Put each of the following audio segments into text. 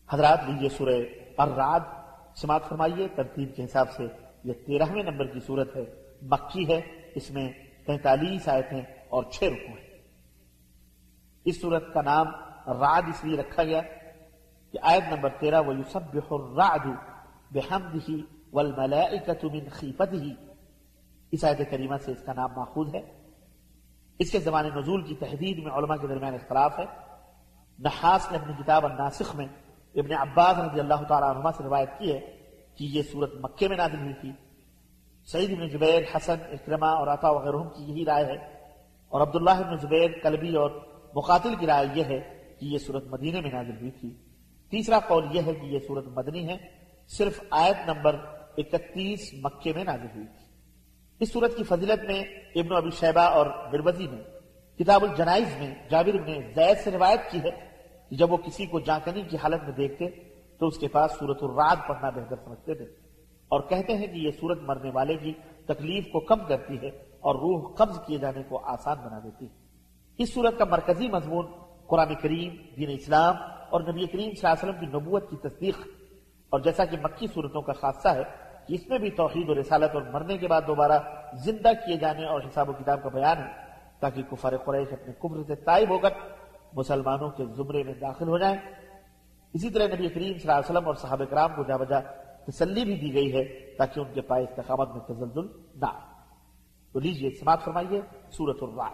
حضرات لیجیے سورہ الرعد سماعت فرمائیے. ترتیب کے حساب سے یہ 13ویں نمبر کی صورت ہے، مکی ہے. اس میں 43 آیتیں اور 6 رکوع ہیں. اس صورت کا نام رعد اس لیے رکھا گیا کہ آیت نمبر 13 وَيُسَبِّحُ الرَّعْدُ بِحَمْدِهِ وَالْمَلَائِكَةُ مِنْ خِيفَتِهِ، اس آیت کریمہ سے اس کا نام ماخوذ ہے. اس کے زمان نزول کی تحدید میں علماء کے درمیان اختلاف ہے. نحاس نے اپنی کتاب الناسخ میں ابن عباس رضی اللہ تعالیٰ عنہما سے روایت کی ہے کہ یہ صورت مکے میں نازل ہوئی تھی. سعید بن جبیر، حسن، اکرمہ اور عطا وغیرہ کی یہی رائے ہے، اور عبداللہ بن زبیر، کلبی اور مقاتل کی رائے یہ ہے کہ یہ صورت مدینے میں نازل ہوئی تھی. تیسرا قول یہ ہے کہ یہ صورت مدنی ہے، صرف آیت نمبر 31 مکے میں نازل ہوئی تھی. اس صورت کی فضیلت میں ابن ابی شیبہ اور مروزی نے کتاب الجنائز میں جابر بن زید سے روایت کی ہے کہ جب وہ کسی کو جانکنی کی حالت میں دیکھتے تو اس کے پاس سورۃ الرعد پڑھنا بہتر سمجھتے تھے، اور کہتے ہیں کہ یہ سورت مرنے والے کی تکلیف کو کم کرتی ہے اور روح قبض کیے جانے کو آسان بنا دیتی ہے. اس سورت کا مرکزی مضمون قرآن کریم، دین اسلام اور نبی کریم صلی اللہ علیہ وسلم کی نبوت کی تصدیق، اور جیسا کہ مکی صورتوں کا خاصہ ہے کہ اس میں بھی توحید اور رسالت اور مرنے کے بعد دوبارہ زندہ کیے جانے اور حساب و کتاب کا بیان ہے، تاکہ کفار قریش اپنے کفر سے تائب ہو کر مسلمانوں کے زمرے میں داخل ہو جائیں. اسی طرح نبی کریم صلی اللہ علیہ وسلم اور صحابہ کرام کو جا بجا تسلی بھی دی گئی ہے تاکہ ان کے پائے استقامت میں تزلزل نہ آئے. تو لیجیے سماعت فرمائیے سورۃ الرعد.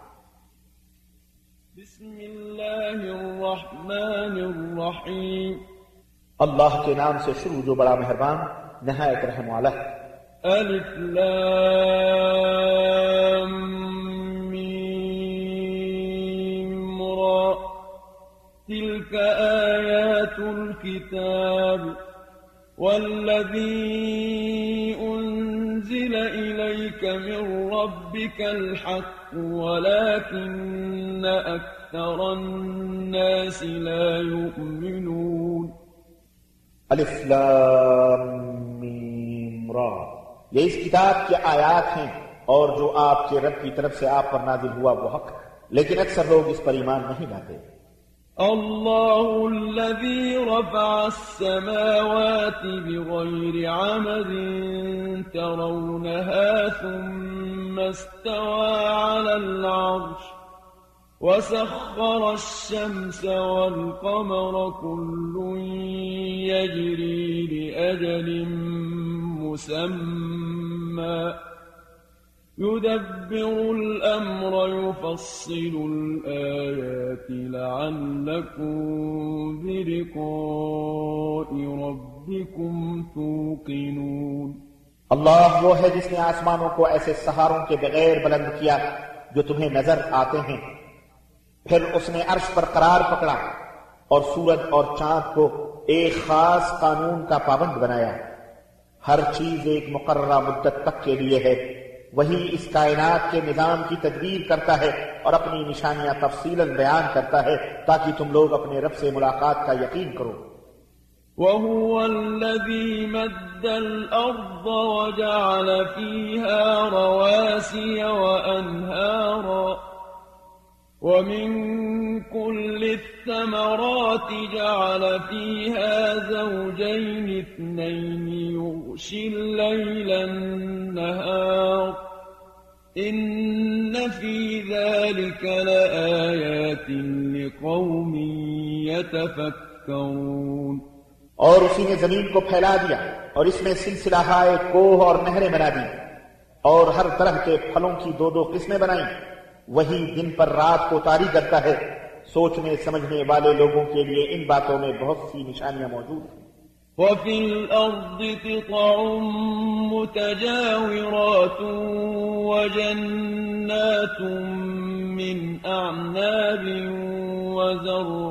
بسم اللہ الرحمن الرحیم. اللہ کے نام سے شروع جو بڑا مہربان نہایت رحم والا ہے. الف لام میم را تلك آیات الكتاب والذی انزل الیک من ربک الحق ولكن اکثر الناس لا یؤمنون. الف لام میم را، یہ اس کتاب کی آیات ہیں اور جو آپ کے رب کی طرف سے آپ پر نازل ہوا وہ حق ہے، لیکن اکثر لوگ اس پر ایمان نہیں لاتے. اللہ الذي رفع السماوات بغير عمد ترونها ثم استوى على العرش وسخر الشمس والقمر كل يجري لأجل مسمى يدبر الأمر يفصل الآيات لعلكم بلقاء ربكم توقنون. اللہ وہ ہے جس نے آسمانوں کو ایسے سہاروں کے بغیر بلند کیا جو تمہیں نظر آتے ہیں، پھر اس نے عرش پر قرار پکڑا اور سورج اور چاند کو ایک خاص قانون کا پابند بنایا. ہر چیز ایک مقررہ مدت تک کے لیے ہے. وہی اس کائنات کے نظام کی تدبیر کرتا ہے اور اپنی نشانیاں تفصیلاً بیان کرتا ہے تاکہ تم لوگ اپنے رب سے ملاقات کا یقین کرو. وَهُوَ الَّذِي مَدَّ الْأَرْضَ وَجَعَلَ فِيهَا رَوَاسِيَ وَأَنْهَارًا وَمِن كُلِّ الثَّمَرَاتِ جَعَلَ فِيهَا زَوْجَيْنِ اثْنَيْنِ يُغْشِي اللَّيْلَ النَّهَارَ إِنَّ فِي ذَلِكَ لَآيَاتٍ لِقَوْمٍ يَتَفَكَّرُونَ. اور اسی نے زمین کو پھیلا دیا اور اس میں سلسلہ ہائے کوہ اور نہریں بنا دی اور ہر طرح کے پھلوں کی دو دو قسمیں بنائیں. وہی دن پر رات کو طاری کرتا ہے. سوچنے سمجھنے والے لوگوں کے لیے ان باتوں میں بہت سی نشانیاں موجود ہیں. وَفِي الْأَرْضِ قِطَعٌ مُتَجَاوِرَاتٌ وَجَنَّاتٌ مِّنْ أَعْنَابٍ وَزَرْعٌ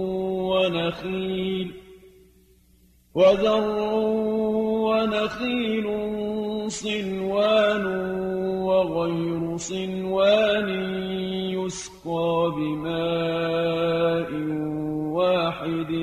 ونخيل صنوان وغير صنوان يسقى بماء واحد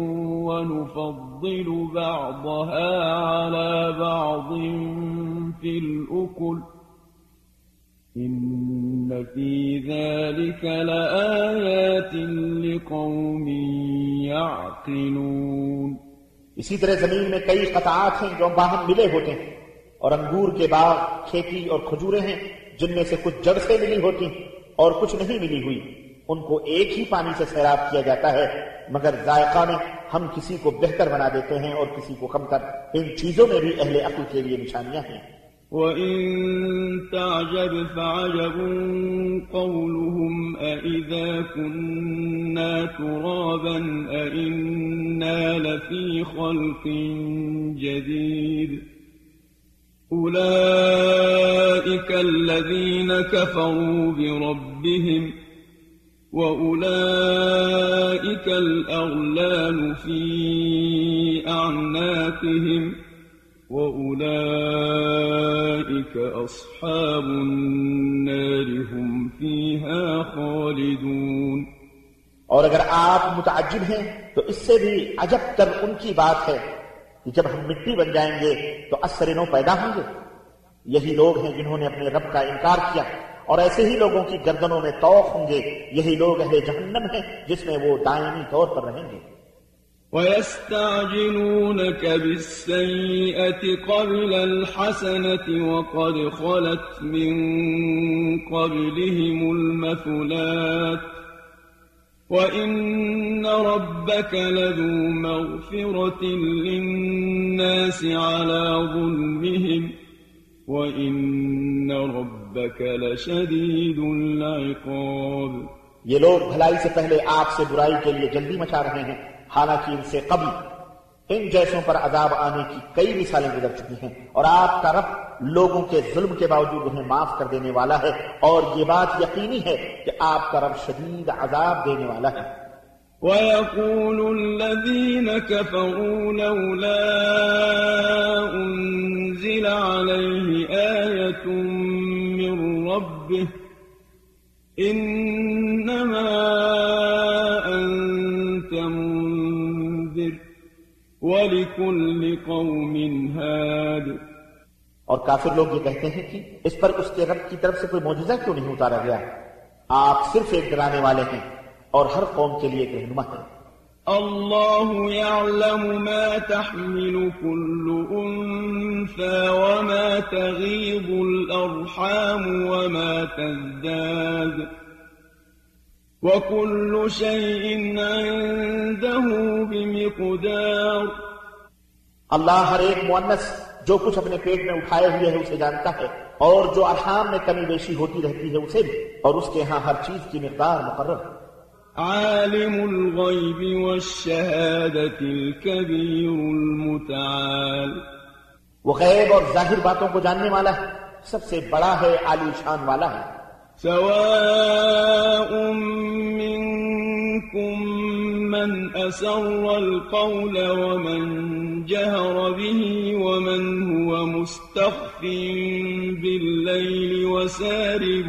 ونفضل بعضها على بعض في الأكل إن فِي ذَلِكَ لَآيَاتٍ لِقَوْمٍ يَعْقِلُونَ اسی طرح زمین میں کئی قطعات ہیں جو باہم ملے ہوتے ہیں، اور انگور کے باغ، کھیتی اور کھجوریں ہیں جن میں سے کچھ جڑ سے ملی ہوتی اور کچھ نہیں ملی ہوئی، ان کو ایک ہی پانی سے سیراب کیا جاتا ہے، مگر ذائقہ میں ہم کسی کو بہتر بنا دیتے ہیں اور کسی کو کم کر۔ ان چیزوں میں بھی اہل عقل کے لیے نشانیاں ہیں۔ وَإِن تَعْجَبْ فَعَجَبٌ قَوْلُهُمْ أَإِذَا كُنَّا تُرَابًا أَإِنَّا لَفِي خَلْقٍ جَدِيدٍ أُولَئِكَ الَّذِينَ كَفَرُوا بِرَبِّهِمْ وَأُولَئِكَ الْأَغْلَالُ فِي أَعْنَاقِهِمْ وَأُولَئِكَ أَصْحَابُ النَّارِ هُمْ فِيهَا خَالِدُونَ۔ اور اگر آپ متعجب ہیں تو اس سے بھی عجب تر ان کی بات ہے کہ جب ہم مٹی بن جائیں گے تو اثر نو پیدا ہوں گے۔ یہی لوگ ہیں جنہوں نے اپنے رب کا انکار کیا، اور ایسے ہی لوگوں کی گردنوں میں طوق ہوں گے۔ یہی لوگ اہل جہنم ہیں جس میں وہ دائمی طور پر رہیں گے۔ وَيَسْتَعْجِلُونَكَ بِالسَّيِّئَةِ قَبْلَ الْحَسَنَةِ وَقَدْ خَلَتْ مِن قَبْلِهِمُ الْمَثُلَاتُ وَإِنَّ رَبَّكَ لَذُو مَغْفِرَةٍ لِلنَّاسِ عَلَى ظُلْمِهِمْ وَإِنَّ رَبَّكَ لَشَدِيدُ الْعِقَابِ۔ یہ لوگ بھلائی سے پہلے آپ سے برائی کے لیے جلدی مچا رہے ہیں، حالانکہ ان سے قبل ان جیسوں پر عذاب آنے کی کئی مثالیں گزر چکی ہیں، اور آپ کا رب لوگوں کے ظلم کے باوجود انہیں معاف کر دینے والا ہے، اور یہ بات یقینی ہے کہ آپ کا رب شدید عذاب دینے والا ہے۔ وَيَقُولُ الَّذِينَ كَفَرُوا لَوْلَا أُنزِلَ عَلَيْهِ آيَةٌ مِّن رَّبِّهِ إِنَّمَا أَنتَ مُنذِرٌ وَلِكُلِّ قَوْمٍ هَادٍ۔ اور کافر لوگ یہ کہتے ہیں کہ اس پر اس کے رب کی طرف سے کوئی معجزہ کیوں نہیں اتارا گیا؟ آپ صرف ایک ڈرانے والے ہیں اور ہر قوم کے لیے ایک رہنما ہے۔ اللہ يعلم ما تحمل كل انثى وما تغيض الارحام وما تزداد وكل شيء عنده بمقدار۔ اللہ ہر ایک مؤنث جو کچھ اپنے پیٹ میں اٹھائے ہوئے ہے اسے جانتا ہے، اور جو ارحام میں کمی بیشی ہوتی رہتی ہے اسے بھی، اور اس کے ہاں ہر چیز کی مقدار مقرر ہے۔ عالم الغیب والشہادة الکبیر المتعال۔ وہ غیب اور ظاہر باتوں کو جاننے والا ہے، سب سے بڑا ہے، عالی شان والا ہے۔ سواء منکم من اسر القول ومن جهر به ومن هو مستخف بالليل وسارب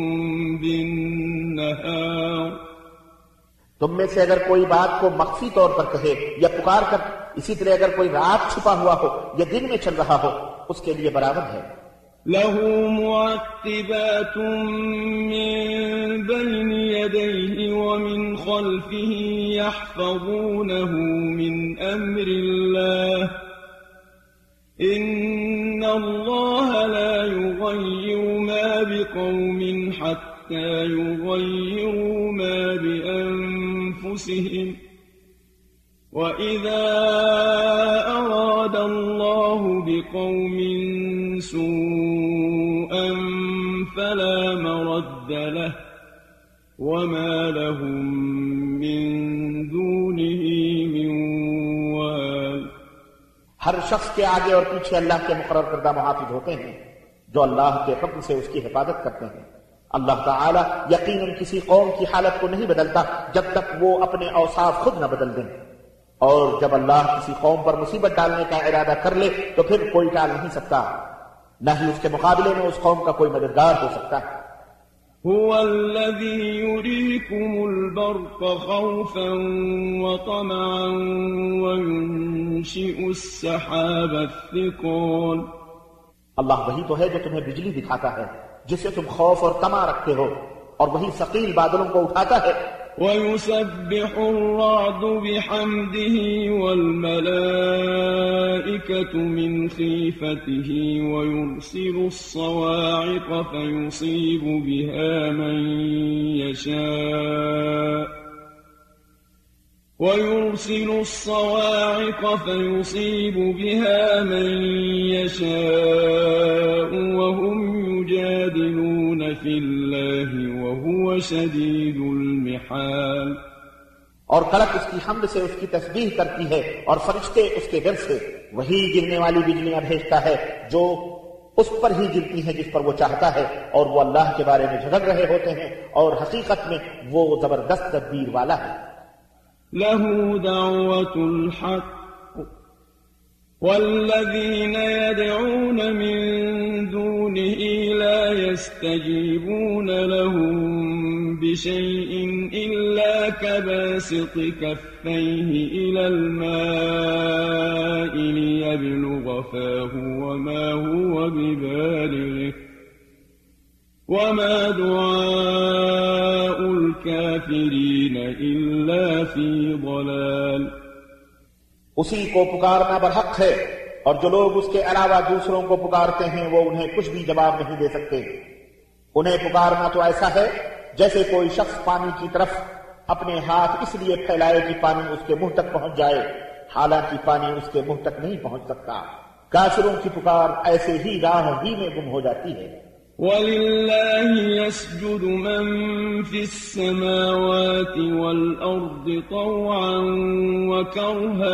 بالنهار۔ تم میں سے اگر کوئی بات کو مخفی طور پر کہے یا پکار کر، اسی طرح اگر کوئی رات چھپا ہوا ہو یا دن میں چل رہا ہو، اس کے لیے برابر ہے۔ له معقبات من بين يديه ومن خلفه يحفظونه من أمر الله إن الله لا يغير ما بقوم حتى يغيروا ما بأنفسهم وإذا أراد الله بقوم سوءا فلا مرد له وما لهم من دونه من وال۔ ہر شخص کے آگے اور پیچھے اللہ کے مقرر کردہ محافظ ہوتے ہیں جو اللہ کے حکم سے اس کی حفاظت کرتے ہیں۔ اللہ تعالی یقیناً کسی قوم کی حالت کو نہیں بدلتا جب تک وہ اپنے اوصاف خود نہ بدل دیں، اور جب اللہ کسی قوم پر مصیبت ڈالنے کا ارادہ کر لے تو پھر کوئی ٹال نہیں سکتا، نہ ہی اس کے مقابلے میں اس قوم کا کوئی مددگار ہو سکتا ہے۔ هو الذي يريكم البرق خوفا وطمعا وينشئ السحاب الثقال۔ اللہ وہی تو ہے جو تمہیں بجلی دکھاتا ہے جسے تم خوف اور طمع رکھتے ہو، اور وہی ثقیل بادلوں کو اٹھاتا ہے۔ وَيُسَبِّحُ الرَّعْدُ بِحَمْدِهِ وَالْمَلَائِكَةُ مِنْ خِيفَتِهِ وَيُرْسِلُ الصَّوَاعِقَ فَيُصِيبُ بِهَا مَن يَشَاءُ وَهُمْ يُجَادِلُونَ فِي اللَّهِ وَهُوَ شَدِيدُ الْمِحَالِ۔ اور کڑک اس کی حمد سے اس کی تسبیح کرتی ہے، اور فرشتے اس کے گر سے۔ وہی گرنے والی بجلیاں بھیجتا ہے جو اس پر ہی گرتی ہیں جس پر وہ چاہتا ہے، اور وہ اللہ کے بارے میں جھگڑ رہے ہوتے ہیں، اور حقیقت میں وہ زبردست تدبیر والا ہے۔ لَهُ دَعْوَةُ الْحَقِّ وَالَّذِينَ يَدْعُونَ مِن دُونِهِ لَا يَسْتَجِيبُونَ لَهُم بِشَيْءٍ إِلَّا كَبَاسِطِ كَفَّيْهِ إِلَى الْمَاءِ لِيَبْلُغَ فَاهُ وَمَا هُوَ بِبَالِغِهِ وَمَا دُعَاءُ الْكَافِرِينَ إِلَّا فِي ضَلَالٍ۔ اسی کو پکارنا برحق ہے، اور جو لوگ اس کے علاوہ دوسروں کو پکارتے ہیں وہ انہیں کچھ بھی جواب نہیں دے سکتے۔ انہیں پکارنا تو ایسا ہے جیسے کوئی شخص پانی کی طرف اپنے ہاتھ اس لیے پھیلائے کہ پانی اس کے منہ تک پہنچ جائے، حالانکہ پانی اس کے منہ تک نہیں پہنچ سکتا۔ کافروں کی پکار ایسے ہی راہ ہی میں گم ہو جاتی ہے۔ وَلِلَّهِ يَسْجُدُ مَن فِي السَّمَاوَاتِ وَالْأَرْضِ طَوْعًا وَكَرْهًا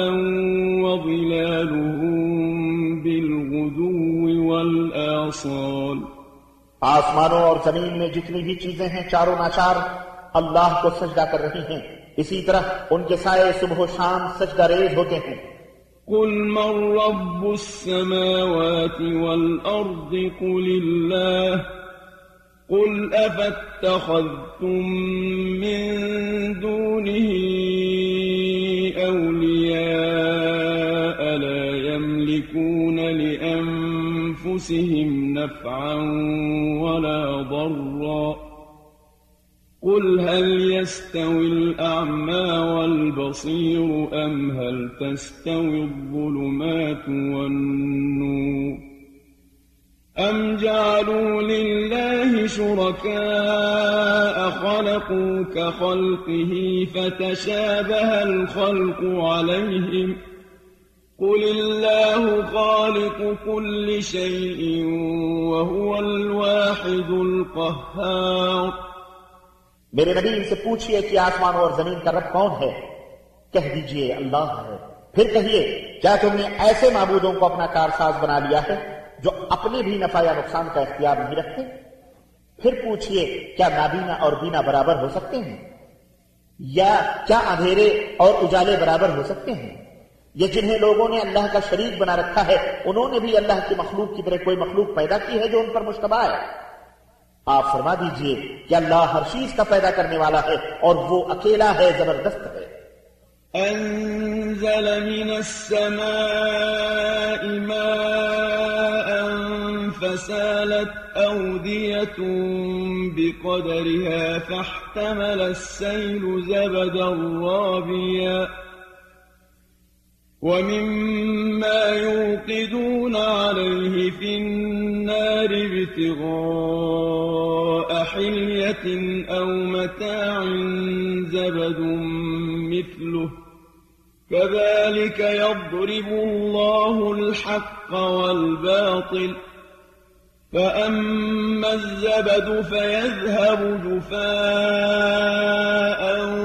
وَظِلَالُهُم بِالْغُدُوِّ وَالْآصَالِ۔ آسمانوں اور زمین میں جتنی بھی چیزیں ہیں چاروں ناچار اللہ کو سجدہ کر رہی ہیں، اسی طرح ان کے سائے صبح و شام سجدہ ریز ہوتے ہیں۔ قُلْ مَن رَّبُّ السَّمَاوَاتِ وَالْأَرْضِ قُلِ اللَّهُ قُلْ أَفَاتَّخَذْتُم مِّن دُونِهِ أَوْلِيَاءَ لَا يَمْلِكُونَ لِأَنفُسِهِمْ نَفْعًا وَلَا ضَرًّا قُلْ هَلْ يَسْتَوِي الْأَعْمَى وَالْبَصِيرُ أَمْ هَلْ تَسْتَوِي الظُّلُمَاتُ وَالنُّورُ أَمْ جَعَلُوا لِلَّهِ شُرَكَاءَ خَلَقُوا كَخَلْقِهِ فَتَشَابَهَ الْخَلْقُ عَلَيْهِمْ قُلِ اللَّهُ خَالِقُ كُلِّ شَيْءٍ وَهُوَ الْوَاحِدُ الْقَهَّارُ۔ میرے نبی ان سے پوچھئے کہ آسمانوں اور زمین کا رب کون ہے؟ کہہ دیجئے اللہ ہے۔ پھر کہیے کیا تم نے ایسے معبودوں کو اپنا کارساز بنا لیا ہے جو اپنے بھی نفع یا نقصان کا اختیار نہیں رکھتے؟ پھر پوچھئے کیا نابینا اور بینا برابر ہو سکتے ہیں؟ یا کیا اندھیرے اور اجالے برابر ہو سکتے ہیں؟ یہ جنہیں لوگوں نے اللہ کا شریک بنا رکھا ہے انہوں نے بھی اللہ کی مخلوق کی طرح کوئی مخلوق پیدا کی ہے جو ان پر مشتبہ ہے؟ آپ فرما دیجئے کہ اللہ ہر چیز کا پیدا کرنے والا ہے اور وہ اکیلا ہے، زبردست ہے۔ أنزل من السماء ماء فسالت أودية بقدرها فاحتمل السيل زبدا رابيا ومما يوقدون عليه في النار ابتغاء حلية أو متاع زبد مثله كذلك يضرب الله الحق والباطل فأما الزبد فيذهب جفاء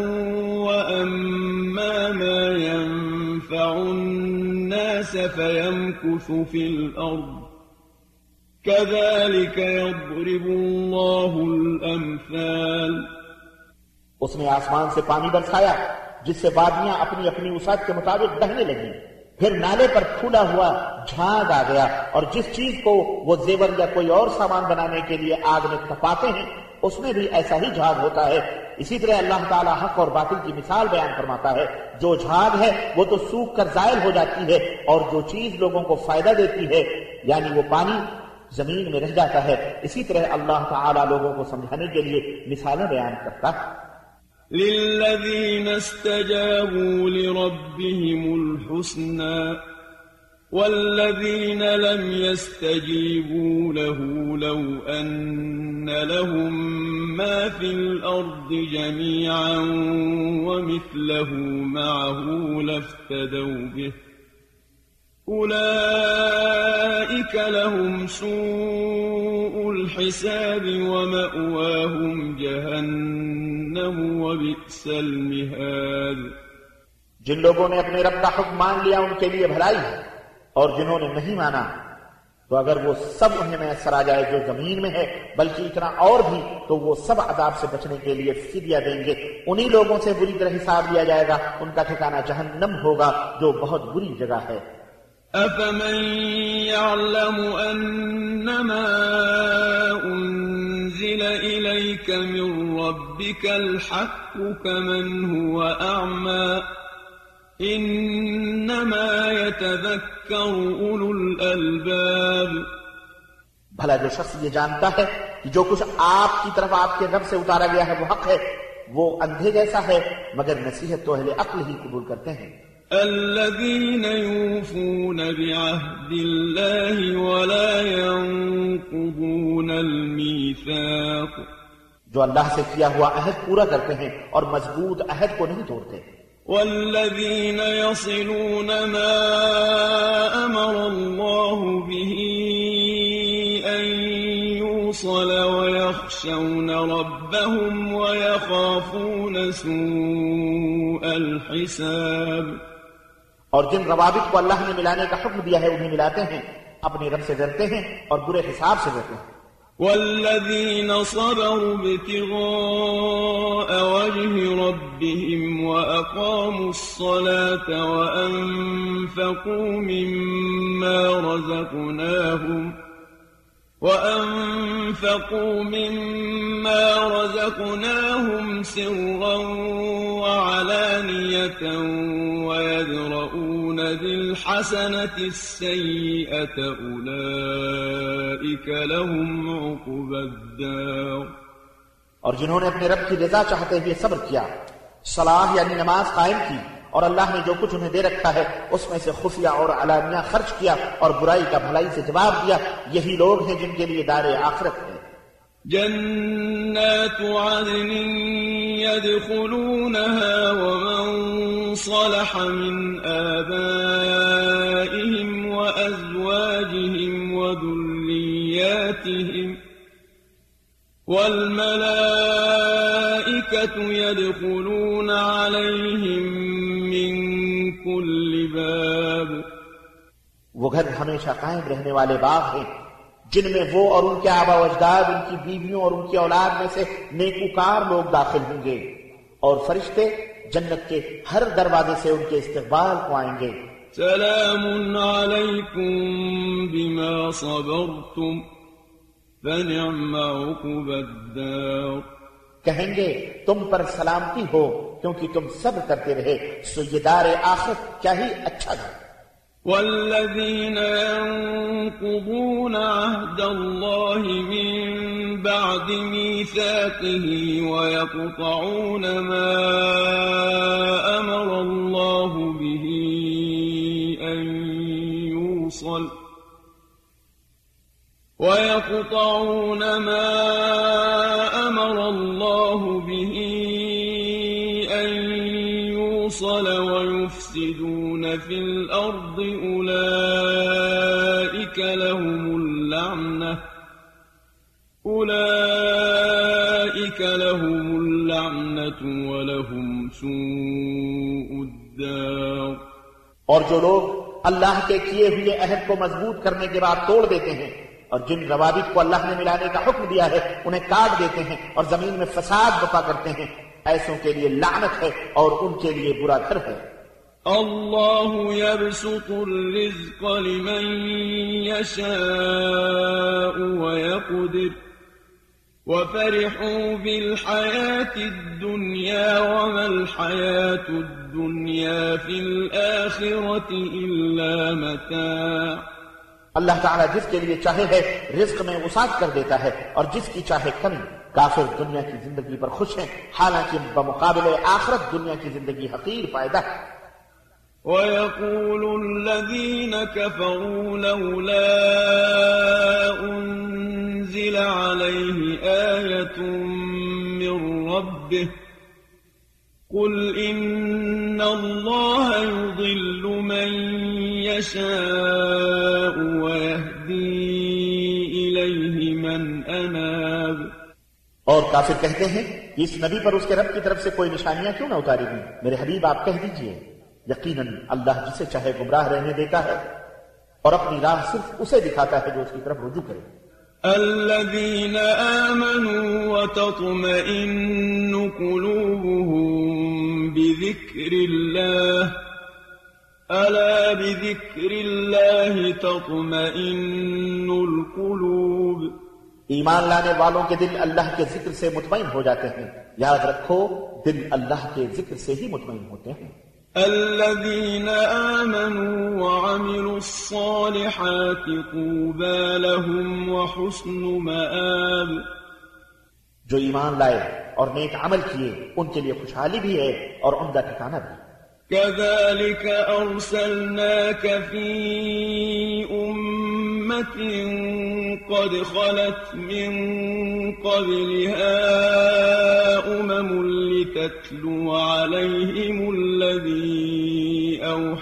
وأما ما ينفع الناس فيمكث في الأرض كذلك يضرب الله الأمثال۔ اس نے آسمان سے پانی برسایا جس سے وادیاں اپنی اپنی وسعت کے مطابق بہنے لگیں، پھر نالے پر پھولا ہوا جھاگ آ گیا، اور جس چیز کو وہ زیور یا کوئی اور سامان بنانے کے لیے آگ میں تپاتے ہیں اس میں بھی ایسا ہی جھاگ ہوتا ہے۔ اسی طرح اللہ تعالیٰ حق اور باطل کی مثال بیان فرماتا ہے، جو جھاگ ہے وہ تو سوکھ کر زائل ہو جاتی ہے، اور جو چیز لوگوں کو فائدہ دیتی ہے یعنی وہ پانی زمین میں رہ جاتا ہے، اسی طرح اللہ تعالی لوگوں کو سمجھانے کے لیے مثالیں بیان کرتا ہے۔ للذين استجابوا لربهم الحسنى والذين لم يستجيبوا له لو أن لهم ما في الأرض جميعا ومثله معه لافتدوا به أولئك لهم سوء الحساب ومأواهم جهنم وبئس المهاد۔ جن لوگوں نے اپنے رب کا حکم مان لیا ان کے لیے بھلائی ہے، اور جنہوں نے نہیں مانا تو اگر وہ سب انہیں میسر آ جائے جو زمین میں ہے بلکہ اتنا اور بھی تو وہ سب عذاب سے بچنے کے لیے فدیہ دیں گے، انہی لوگوں سے بری طرح حساب لیا جائے گا، ان کا ٹھکانہ جہنم ہوگا جو بہت بری جگہ ہے۔ أفمن يعلم أنما أنزل إليك من ربك الحق كمن هو أعمى إنما يتذكر أولو الألباب۔ بھلا جو شخص یہ جانتا ہے کہ جو کچھ آپ کی طرف آپ کے رب سے اتارا گیا ہے وہ حق ہے، وہ اندھے جیسا ہے، مگر نصیحت تو اہل عقل ہی قبول کرتے ہیں۔ الذين يوفون بعهد الله ولا ينقضون الميثاق، جو اللہ سے کیا ہوا عہد پورا کرتے ہیں اور مضبوط عہد کو نہیں توڑتے۔ والذين يصلون ما أمر الله به أن يوصل ويخشون ربهم ويخافون سوء الحساب۔ اور جن روابط کو اللہ نے ملانے کا حکم دیا ہے انہیں ملاتے ہیں، اپنے رب سے ڈرتے ہیں اور برے حساب سے ڈرتے ہیں۔ والذين صبروا ابتغاء وجه ربهم وأقاموا الصلاة وأنفقوا مما رزقناهم سرا وعلانية ويدرؤون بالحسنة السيئة أولئك لهم عقبى الدار۔ اور جنہوں نے اپنے رب کی رضا چاہتے ہوئے صبر کیا، صلاح یعنی نماز قائم کی، اور اللہ نے جو کچھ انہیں دے رکھا ہے اس میں سے خفیہ اور علانیہ خرچ کیا اور برائی کا بھلائی سے جواب دیا، یہی لوگ ہیں جن کے لیے دار آخرت ہے۔ جنات عدن يدخلونها ومن صلح من آبائهم وأزواجهم وذرياتهم والملائكة يدخلون عليهم من كل باب۔ وہ گھر ہمیشہ قائم رہنے والے باغ ہیں جن میں وہ اور ان کے آبا و اجداد، ان کی بیویوں اور ان کی اولاد میں سے نیکوکار لوگ داخل ہوں گے، اور فرشتے جنت کے ہر دروازے سے ان کے استقبال کو آئیں گے۔ سلام علیکم بما صبرتم فنعم عقبى الدار۔ کہیں گے تم پر سلامتی ہو کیونکہ تم صبر کرتے رہے، سو یہ دار آخرت کیا ہی اچھا تھا۔ والذين ينقضون عهد الله من بعد ميثاقه ويقطعون ما أمر الله به أن يوصل ويفسدون في الأرض أولئك لهم اللعنة ولهم سوء الدار۔ اور جو لوگ اللہ کے کیے ہوئے عہد کو مضبوط کرنے کے بعد توڑ دیتے ہیں اور جن روابط کو اللہ نے ملانے کا حکم دیا ہے انہیں کاٹ دیتے ہیں اور زمین میں فساد برپا کرتے ہیں، ایسوں کے لیے لعنت ہے اور ان کے لیے برا گھر ہے۔ الله يبسط الرزق لمن يشاء ويقدر وفرحوا بالحياة الدنيا وما الحياة الدنيا في الآخرة إلا متاع اللہ تعالیٰ جس کے لیے چاہے ہے رزق میں وسعت کر دیتا ہے اور جس کی چاہے کمی۔ کافر دنیا کی زندگی پر خوش ہیں، حالانکہ بمقابلے آخرت دنیا کی زندگی حقیر فائدہ ہے۔ وَيَقُولُ الَّذِينَ كَفَرُوا لَوْلَا أُنزِلَ عَلَيْهِ آيَةٌ مِّن رَّبِّهِ قُلْ إِنَّ اللَّهَ يُضِلُّ مَن يَشَاءُ وَيَهْدِي إِلَيْهِ مَنْ أَنَابَ۔ اور کافر کہتے ہیں کہ اس نبی پر اس کے رب کی طرف سے کوئی نشانیاں کیوں نہ اتاری گئیں؟ میرے حبیب آپ کہہ دیجئے یقیناً اللہ جسے چاہے گمراہ رہنے دیتا ہے اور اپنی راہ صرف اسے دکھاتا ہے جو اس کی طرف رجوع کرے۔ الذين آمنوا وتطمئن قلوبهم بذكر الله ألا بذكر الله تطمئن القلوب۔ ایمان لانے والوں کے دل اللہ کے ذکر سے مطمئن ہو جاتے ہیں۔ یاد رکھو دل اللہ کے ذکر سے ہی مطمئن ہوتے ہیں۔ الذين آمنوا وعملوا الصالحات طوبى لهم وحسن مآب۔ جو ایمان لائے اور نیک عمل کیے ان کے لیے خوشحالی بھی ہے اور عمدہ ٹھکانہ بھی۔ كذلك أرسلناك في أمة قد خلت من قبلها لتتلو عليهم الذي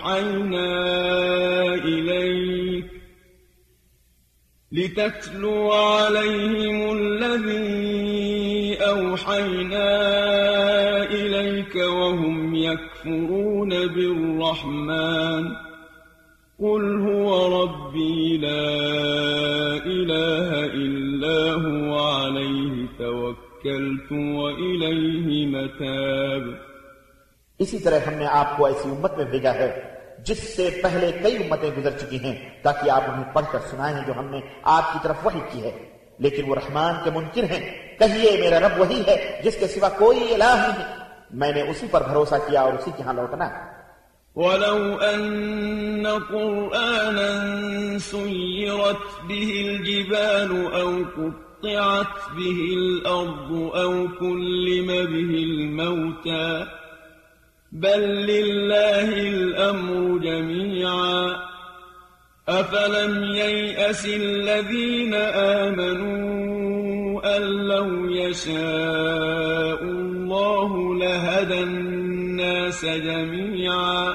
أوحينا إليك وهم يكفرون بالرحمن قل هو ربي لا إله إلا هو عليه توكلت وإليه متاب۔ اسی طرح ہم نے آپ کو ایسی امت میں بھیجا ہے جس سے پہلے کئی امتیں گزر چکی ہیں تاکہ آپ انہیں پڑھ کر سنائیں جو ہم نے آپ کی طرف وحی کی ہے، لیکن وہ رحمان کے منکر ہیں۔ کہیے میرا رب وہی ہے جس کے سوا کوئی الہ نہیں، میں نے اسی پر بھروسہ کیا اور اسی کے ہاں لوٹنا ہے۔ وَلَوْ أَنَّ قُرْآنًا سُيِّرَتْ بِهِ الْجِبَالُ أَوْ قُطِّعَتْ بِهِ الْأَرْضُ أَوْ كُلِّمَ بِهِ الْمَوْتَى بَل لِّلَّهِ الْأَمْرُ جَمِيعًا أَفَلَمْ يَيْأَسِ الَّذِينَ آمَنُوا أَن لَّوْ يَشَاءُ اللَّهُ لَهَدَى النَّاسَ جَمِيعًا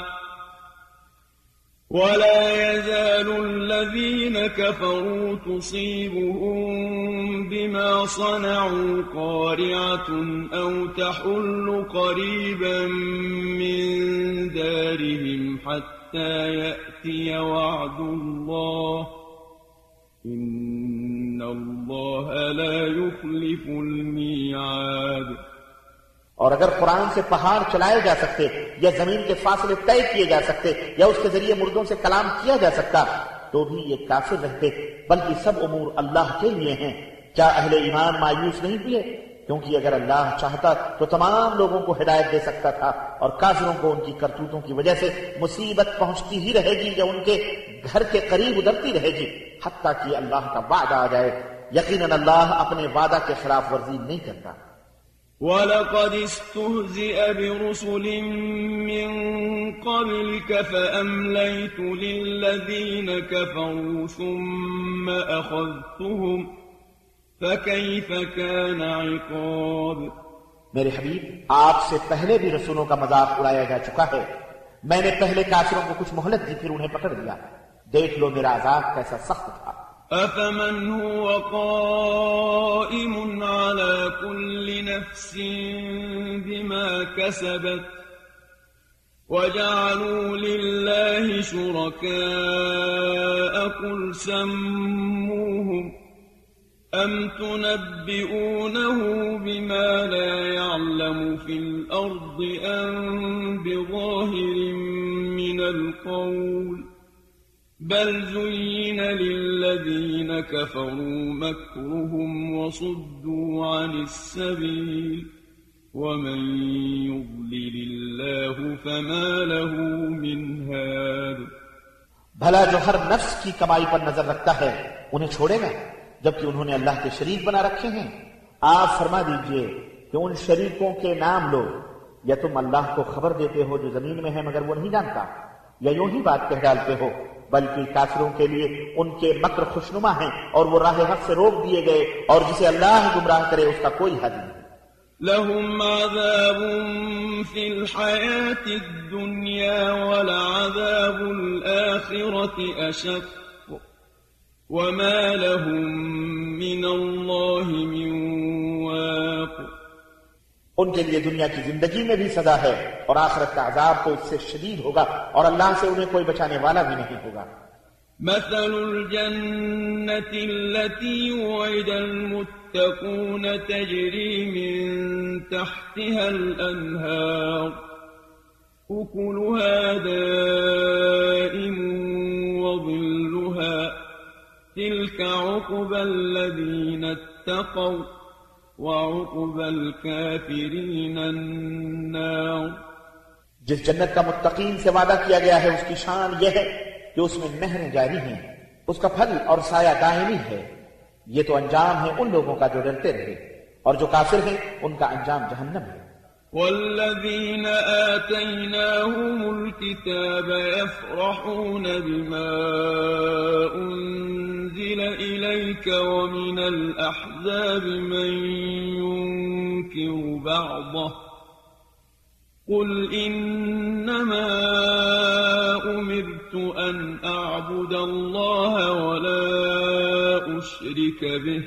وَلَا يَزَالُ الَّذِينَ كَفَرُوا تُصِيبُهُم بِمَا صَنَعُوا قَارِعَةٌ أَوْ تَحُلُّ قَرِيبًا مِّن دَارِهِمْ حَتَّى يَأْتِيَ وَعْدُ اللَّهِ إِنَّ اللَّهَ لَا يُخْلِفُ الْمِيعَادَ۔ اور اگر قرآن سے پہاڑ چلائے جا سکتے یا زمین کے فاصلے طے کیے جا سکتے یا اس کے ذریعے مردوں سے کلام کیا جا سکتا تو بھی یہ کافر رہتے، بلکہ سب امور اللہ کے لیے ہیں۔ کیا اہل ایمان مایوس نہیں ہوئے؟ کیونکہ اگر اللہ چاہتا تو تمام لوگوں کو ہدایت دے سکتا تھا، اور کافروں کو ان کی کرتوتوں کی وجہ سے مصیبت پہنچتی ہی رہے گی یا ان کے گھر کے قریب ادھرتی رہے گی حتیٰ کہ اللہ کا وعدہ آ جائے۔ یقیناً اللہ اپنے وعدہ کے خلاف ورزی نہیں کرتا۔ وَلَقَدِ اسْتُهْزِئَ بِرُسُلٍ مِّن قَبْلِكَ فَأَمْلَيْتُ لِلَّذِينَ كَفَرُوا ثُمَّ أَخَذْتُهُمْ فَكَيْفَ كَانَ عِقَابِ۔ میرے حبیب آپ سے پہلے بھی رسولوں کا مذاق اڑایا جا چکا ہے، میں نے پہلے کافروں کو کچھ مہلت دی پھر انہیں پکڑ لیا، دیکھ لو میرا عذاب کیسا سخت تھا۔ أَفَمَنْ هُوَ قَائِمٌ عَلَى كُلِّ نَفْسٍ بِمَا كَسَبَتْ وَجَعَلُوا لِلَّهِ شُرَكَاءَ قُلْ سَمُّوهُمْ أَمْ تُنَبِّئُونَهُ بِمَا لَا يَعْلَمُ فِي الْأَرْضِ أَمْ بِظَاهِرٍ مِّنَ الْقَوْلِ بل زين للذين كفروا مكرهم وصدوا عن السبيل ومن يضلل الله فما له من هاد۔ بھلا جو ہر نفس کی کمائی پر نظر رکھتا ہے انہیں چھوڑے گا جبکہ انہوں نے اللہ کے شریک بنا رکھے ہیں؟ آپ فرما دیجئے کہ ان شریکوں کے نام لو، یا تم اللہ کو خبر دیتے ہو جو زمین میں ہے مگر وہ نہیں جانتا، یا یوں ہی بات کہہ ڈالتے ہو؟ بلکہ کافروں کے لیے ان کے مکر خوشنما ہیں اور وہ راہ حق سے روک دیے گئے، اور جسے اللہ گمراہ کرے اس کا کوئی حد نہیں۔ لهم عذاب في الحياة الدنيا ولعذاب الآخرة أشق وما لهم من الله من واق۔ ان کے لیے دنیا کی زندگی میں بھی سزا ہے اور آخرت کا عذاب تو اس سے شدید ہوگا، اور اللہ سے انہیں کوئی بچانے والا بھی نہیں ہوگا۔ مثل الجنة التي وعد المتقون تجري من تحتها الأنهار أكلها دائم وظلها تلك عقبى الذين اتقوا وعقبى الكافرين النار۔ جس جنت کا متقین سے وعدہ کیا گیا ہے اس کی شان یہ ہے کہ اس میں نہریں جاری ہیں، اس کا پھل اور سایہ دائمی ہے۔ یہ تو انجام ہے ان لوگوں کا جو ڈرتے رہے، اور جو کافر ہیں ان کا انجام جہنم ہے۔ والذين آتيناهم الكتاب يفرحون بما أنزل إليك ومن الأحزاب من ينكر بعضه قل إنما أمرت أن أعبد الله ولا أشرك به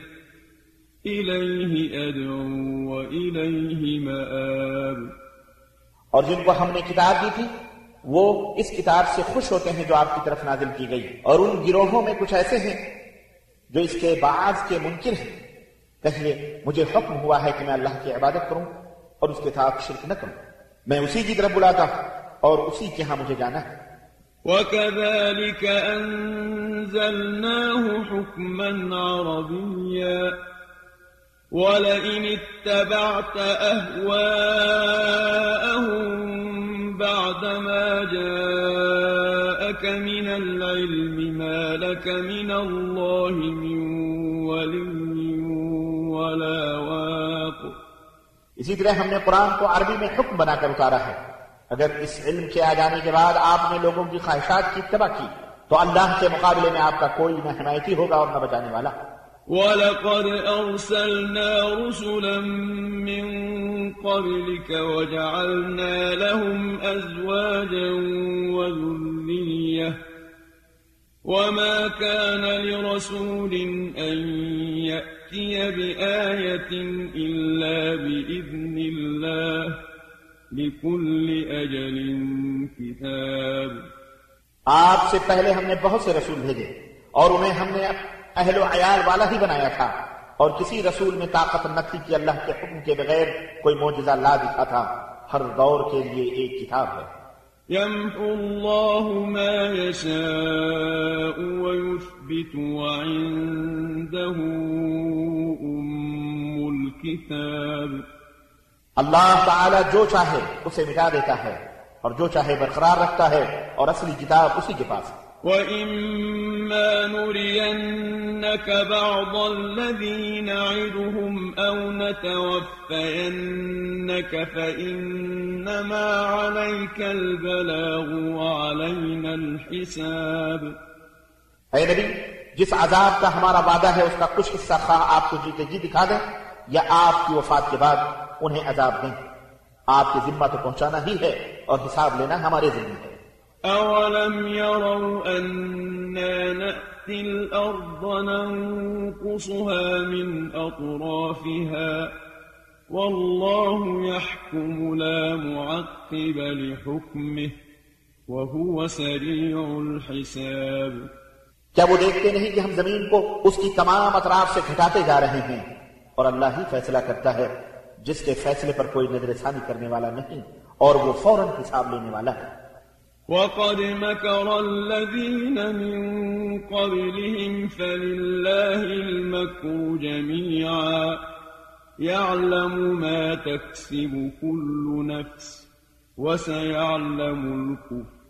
إليه أدعو وإليه مآب۔ اور جن کو ہم نے کتاب دی تھی وہ اس کتاب سے خوش ہوتے ہیں جو آپ کی طرف نازل کی گئی، اور ان گروہوں میں کچھ ایسے ہیں جو اس کے بعض کے منکر ہیں۔ کہیے مجھے حکم ہوا ہے کہ میں اللہ کی عبادت کروں اور اس کے ساتھ شرک نہ کروں، میں اسی کی طرف بلاتا ہوں اور اسی کے ہاں مجھے جانا ہے۔ وَكَذَلِكَ أَنزَلْنَاهُ حُكْمًا عَرَبِيًّا وَلَئِنِ اتَّبَعْتَ أَهْوَاءَهُمْ بَعْدَمَا جَاءَكَ مِنَ الْعِلْمِ مَا لَكَ مِنَ اللَّهِ مِنْ وَلِيٍّ وَلَا وَاقٍ۔ اسی طرح ہم نے قرآن کو عربی میں حکم بنا کر اتارا ہے۔ اگر اس علم کے آ جانے کے بعد آپ نے لوگوں کی خواہشات کی اتباع کی تو اللہ کے مقابلے میں آپ کا کوئی نہ حمایتی ہوگا اور نہ بچانے والا۔ وَلَقَدْ أَرْسَلْنَا رُسُلًا مِّن قَبْلِكَ وَجَعَلْنَا لَهُمْ أَزْوَاجًا وَذُرِّيَّةً وَمَا كَانَ لِرَسُولٍ أَن يَأْتِيَ بِآيَةٍ إِلَّا بِإِذْنِ اللَّهِ لِكُلِّ أَجَلٍ كِتَابٌ۔ آپ سے پہلے ہم نے بہت سے رسول بھیجے اور انہیں ہم نے اہل و عیال والا ہی بنایا تھا، اور کسی رسول میں طاقت نہ تھی کہ اللہ کے حکم کے بغیر کوئی معجزہ لا دکھا تھا۔ ہر دور کے لیے ایک کتاب ہے۔ يَمْحُو اللَّهُ مَا يَشَاءُ وَيُثْبِتُ وَعِندَهُ أُمُّ الْكِتَابِ۔ اللہ تعالی جو چاہے اسے مٹا دیتا ہے اور جو چاہے برقرار رکھتا ہے، اور اصلی کتاب اسی کے پاس ہے۔ وَإِمَّا نُرِيَنَّكَ بَعْضَ الَّذِي نَعِدُهُمْ أَوْ نَتَوَفَّيَنَّكَ فَإِنَّمَا عَلَيْكَ الْبَلَاغُ وَعَلَيْنَا الْحِسَابُ۔ اے نبی، جس عذاب کا ہمارا وعدہ ہے اس کا کچھ حصہ خواہ آپ کو جیتے جی دکھا دیں یا آپ کی وفات کے بعد انہیں عذاب دیں، آپ کی ذمہ تو پہنچانا ہی ہے اور حساب لینا ہمارے ذمہ ہے۔ أَوَلَمْ يَرَوْا أَنَّا نَأْتِي الْأَرْضَ نَنقُصُهَا مِنْ أَطْرَافِهَا وَاللَّهُ يَحْكُمُ لَا مُعَقِّبَ لِحُكْمِهِ وَهُوَ سَرِيعُ الْحِسَابِ۔ کیا وہ دیکھتے نہیں کہ ہم زمین کو اس کی تمام اطراف سے گھٹاتے جا رہے ہیں، اور اللہ ہی فیصلہ کرتا ہے جس کے فیصلے پر کوئی نظر ثانی کرنے والا نہیں، اور وہ فوراً حساب لینے والا ہے۔ وَقَدْ مَكَرَ الَّذِينَ مِن قَبْلِهِمْ فَلِلَّهِ الْمَكْرُ جَمِيعًا يَعْلَمُ مَا تَكْسِبُ كُلُّ نَفْسٍ وَسَيَعْلَمُ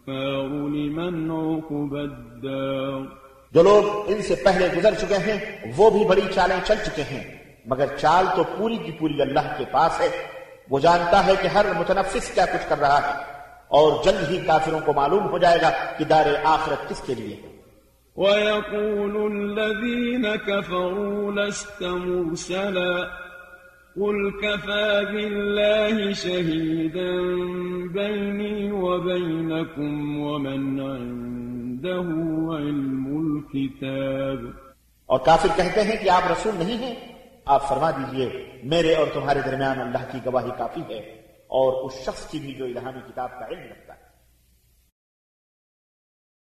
الكفار لمن عقبى الدار. جو لوگ ان سے پہلے گزر چکے ہیں وہ بھی بڑی چالیں چل چکے ہیں، مگر چال تو پوری کی پوری اللہ کے پاس ہے. وہ جانتا ہے کہ ہر متنفس کیا کچھ کر رہا ہے، اور جلد ہی کافروں کو معلوم ہو جائے گا کہ دار آخرت کس کے لیے ہے. وَيَقُولُ الَّذِينَ كَفَرُوا لَسْتَ مُرْسَلًا قُلْ كَفَى بِاللَّهِ شَهِيدًا بَيْنِي وَبَيْنَكُمْ وَمَنْ عِندَهُ عِلْمُ الْكِتَابِ. اور کافر کہتے ہیں کہ آپ رسول نہیں ہیں. آپ فرما دیجئے میرے اور تمہارے درمیان اللہ کی گواہی کافی ہے، اور اس شخص کی بھی جو الہامی کتاب کا علم رکھتا ہے.